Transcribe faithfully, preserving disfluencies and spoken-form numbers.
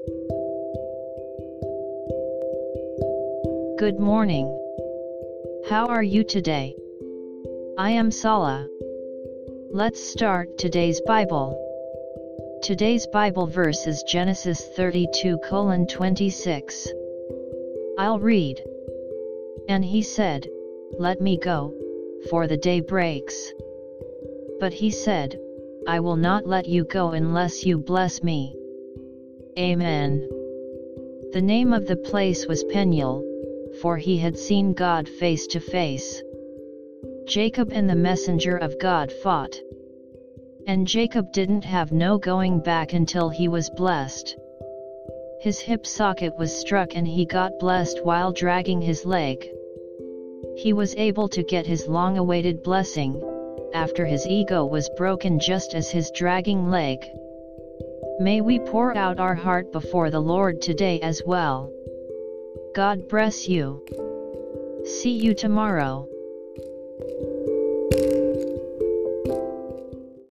Good morning. How are you today? I am Sala. Let's start today's Bible. Today's Bible verse is Genesis thirty-two colon twenty-six. I'll read. And he said, "Let me go, for the day breaks." But he said, "I will not let you go unless you bless me." Amen. The name of the place was Peniel, for he had seen God face to face. Jacob and the messenger of God fought. And Jacob didn't have no going back until he was blessed. His hip socket was struck and he got blessed while dragging his leg. He was able to get his long-awaited blessing, after his ego was broken just as his dragging leg. May we pour out our heart before the Lord today as well. God bless you. See you tomorrow.